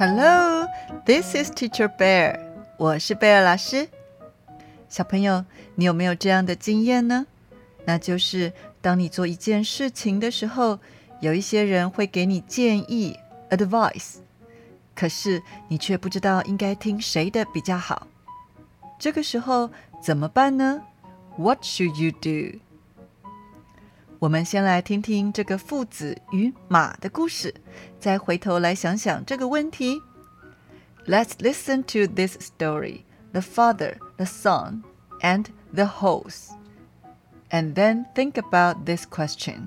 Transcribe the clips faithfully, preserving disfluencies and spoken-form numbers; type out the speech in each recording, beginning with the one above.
Hello, this is Teacher Bear. 我是貝爾老師。小朋友，你有沒有這樣的經驗呢？那就是當你做一件事情的時候，有一些人會給你建議 advice， 可是你卻不知道應該聽誰的比較好。這個時候怎麼辦呢？ What should you do? 我們先來聽聽這個父子與馬的故事，再回頭來想想這個問題。Let's listen to this story, the father, the son, and the horse. And then think about this question.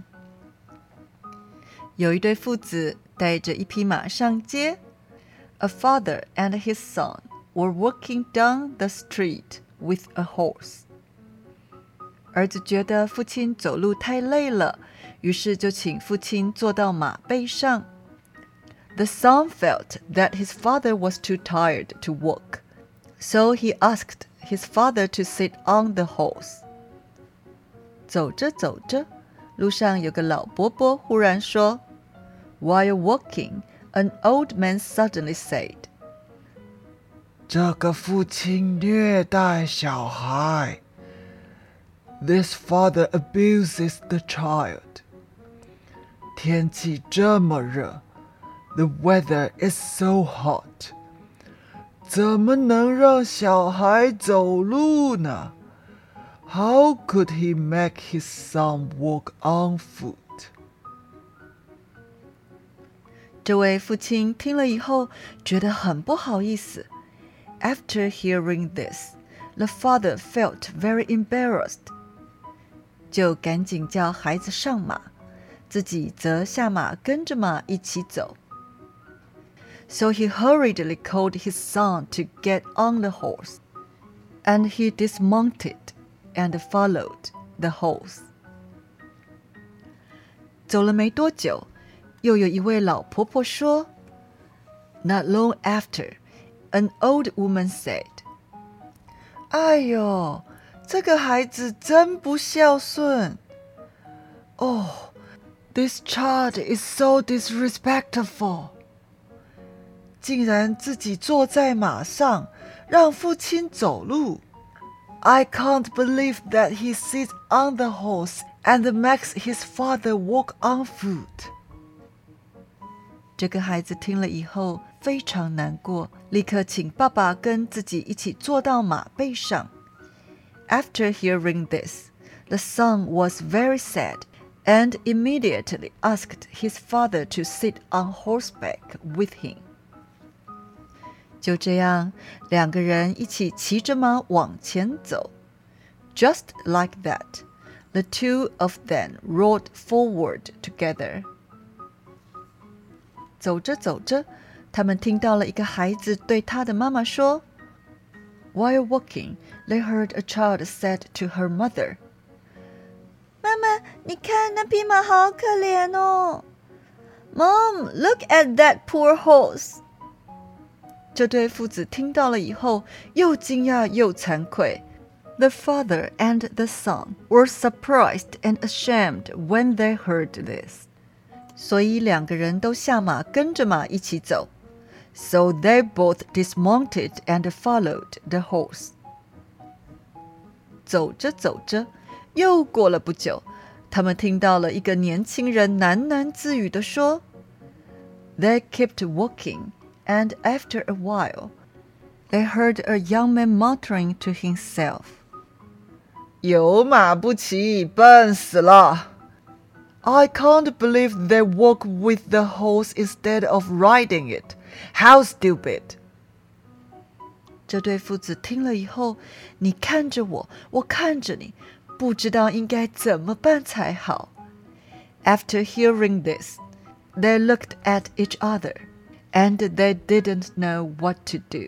有一對父子帶着一匹馬上街。A father and his son were walking down the street with a horse. 兒子覺得父親走路太累了，於是就請父親坐到馬背上。The son felt that his father was too tired to walk, so he asked his father to sit on the horse. 走着走着，路上有個老伯伯忽然說 While walking, an old man suddenly said, 這個父親虐待小孩。This father abuses the child. 天氣這麼熱 The weather is so hot. 怎麼能讓小孩走路呢？ How could he make his son walk on foot? 這位父親聽了以後覺得很不好意思。After hearing this, the father felt very embarrassed. 就趕緊叫孩子上馬，自己則下馬跟着馬一起走。So he hurriedly called his son to get on the horse, and he dismounted and followed the horse. 走了沒多久，又有一位老婆婆說 Not long after, an old woman said, 哎呦，這個孩子真不孝順。Oh, this child is so disrespectful. 竟然自己坐在馬上，讓父親走路。I can't believe that he sits on the horse and makes his father walk on foot. 這個孩子聽了以後非常難過，立刻請爸爸跟自己一起坐到馬背上。After hearing this, the son was very sad and immediately asked his father to sit on horseback with him. 就這樣，兩個人一起騎着馬往前走。Just like that, the two of them rode forward together. 走着走着，他們聽到了一個孩子對他的媽媽說While walking, they heard a child said to her mother, 媽媽，你看那匹馬好可憐哦。Mom, look at that poor horse. 這對父子聽到了以後，又驚訝又慚愧。The father and the son were surprised and ashamed when they heard this. 所以兩個人都下馬跟着馬一起走。So they both dismounted and followed the horse. 走着走着，又過了不久，他們聽到了一個年輕人喃喃自語地說 They kept walking, and after a while, they heard a young man muttering to himself, 有馬不騎，笨死了。I can't believe they walk with the horse instead of riding it. How stupid! 這對父子聽了以後，你看着我，我看着你，不知道應該怎麼辦才好。After hearing this, they looked at each other, and they didn't know what to do.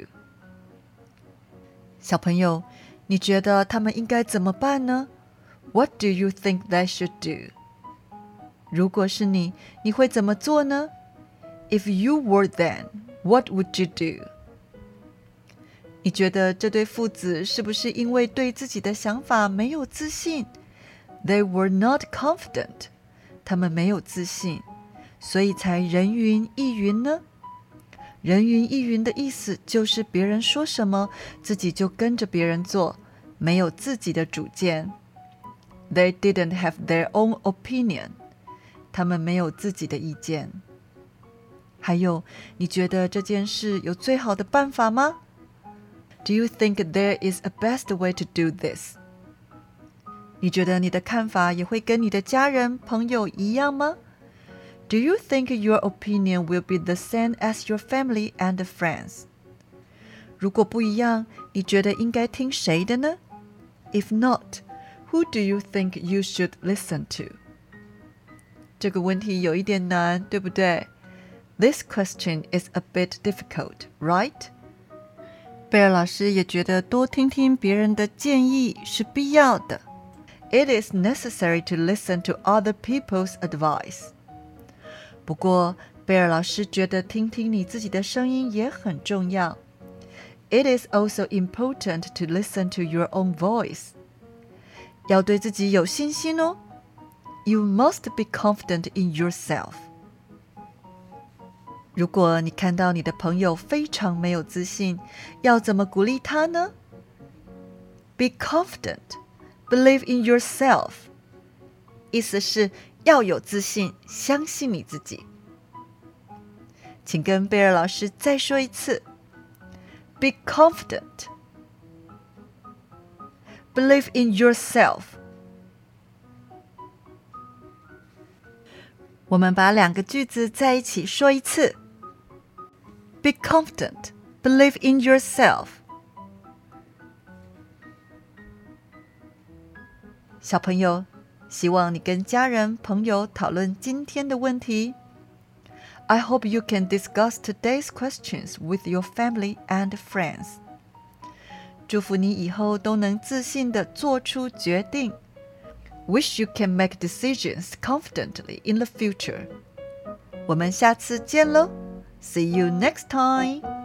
小朋友，你覺得他們應該怎麼辦呢？ What do you think they should do? 如果是你，你會怎麼做呢？ If you were them, what would you do? 你覺得這對父子是不是因為對自己的想法沒有自信？ They were not confident. 他們沒有自信，所以才人云亦云呢？ 人云亦云的意思就是別人說什麼，自己就跟着別人做，沒有自己的主見。They didn't have their own opinion. 他們沒有自己的意見。還有，你覺得這件事有最好的辦法嗎？ Do you think there is a best way to do this? 你覺得你的看法也會跟你的家人、朋友一樣嗎？ Do you think your opinion will be the same as your family and friends? 如果不一樣，你覺得應該聽誰的呢？ If not, who do you think you should listen to? 這個問題有一點難，對不對？ This question is a bit difficult, right? 貝爾老師也覺得多聽聽別人的建議是必要的。It is necessary to listen to other people's advice. 不過，貝爾老師覺得聽聽你自己的聲音也很重要。It is also important to listen to your own voice. 要對自己有信心哦。You must be confident in yourself. 如果你看到你的朋友非常沒有自信，要怎麼鼓勵他呢？ Be confident. Believe in yourself. 意思是要有自信，相信你自己。請跟貝爾老師再說一次。Be confident. Believe in yourself. 我們把兩個句子在一起說一次。Be confident. Believe in yourself. 小朋友，希望你跟家人、朋友討論今天的問題。I hope you can discuss today's questions with your family and friends. 祝福你以後都能自信地做出決定。Wish you can make decisions confidently in the future. 我們下次見嘍。See you next time.